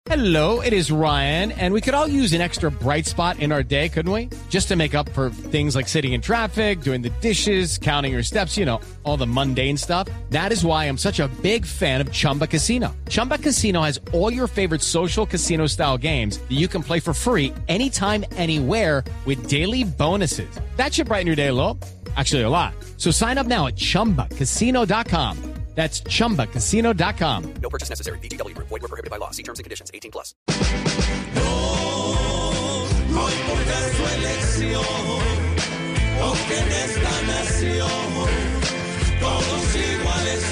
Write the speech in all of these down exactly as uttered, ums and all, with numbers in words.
Hello, it is Ryan, and we could all use an extra bright spot in our day, couldn't we? Just to make up for things like sitting in traffic, doing the dishes, counting your steps, you know, all the mundane stuff. That is why I'm such a big fan of Chumba Casino. Chumba Casino has all your favorite social casino-style games that you can play for free anytime, anywhere with daily bonuses. That should brighten your day a little. Actually, a lot. So sign up now at chumba casino dot com. That's chumba casino dot com. No purchase necessary. V G W Group. Void where prohibited by law. See terms and conditions. eighteen plus. No, no importa su elección, porque en esta nación todos iguales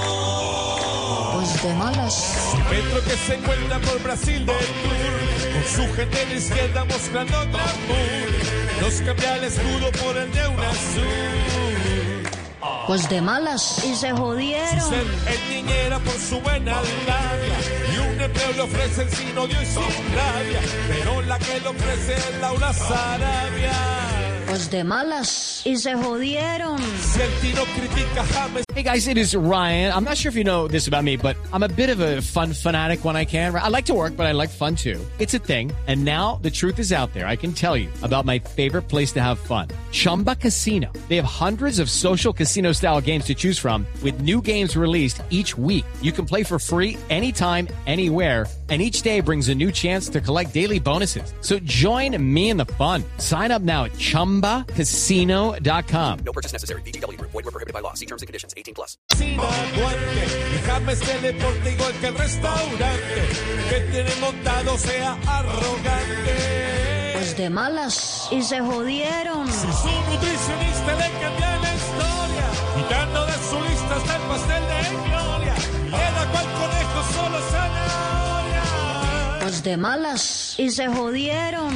son. Pues de malas. Petro que se encuentra por Brasil del Tour, con su gente de izquierda mostrando glamour, nos cambia el escudo por el de un azul. Pues de malas. Y se jodieron. Ser es niñera por su buena labia, y un empleo le ofrecen sin odio y sin rabia, pero la que le ofrece es Laura Sarabia. Pues de malas. Y se jodieron. Si el tino critica James. Hey guys, it is Ryan. I'm not sure if you know this about me, but I'm a bit of a fun fanatic when I can. I like to work, but I like fun too. It's a thing. And now the truth is out there. I can tell you about my favorite place to have fun. Chumba Casino. They have hundreds of social casino style games to choose from with new games released each week. You can play for free anytime, anywhere. And each day brings a new chance to collect daily bonuses. So join me in the fun. Sign up now at chumba casino dot com. No purchase necessary. V G W Group. Void where prohibited by law. See terms and conditions. eighteen plus. Sin aguante, y James teleporte igual que el restaurante, que tiene montado sea arrogante. Pues de malas. Y se jodieron. Si su nutricionista le cambia la historia, quitando de su lista hasta el pastel de gloria, y le da cual conejo solo zanahoria. Pues de malas. Y se jodieron.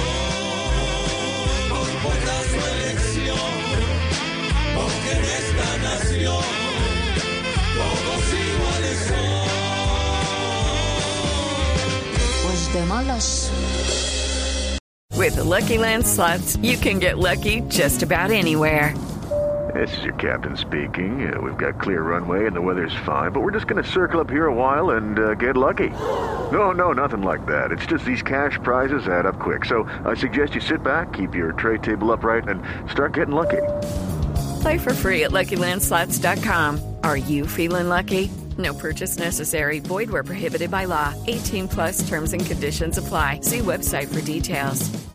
No importa su elección, porque en esta nación todos iguales son. Pues de malas. With the Lucky Land Slots, you can get lucky just about anywhere. This is your captain speaking. Uh, we've got clear runway and the weather's fine, but we're just going to circle up here a while and uh, get lucky. No, no, nothing like that. It's just these cash prizes add up quick. So I suggest you sit back, keep your tray table upright, and start getting lucky. Play for free at lucky land slots dot com. Are you feeling lucky? No purchase necessary. Void where prohibited by law. eighteen plus terms and conditions apply. See website for details.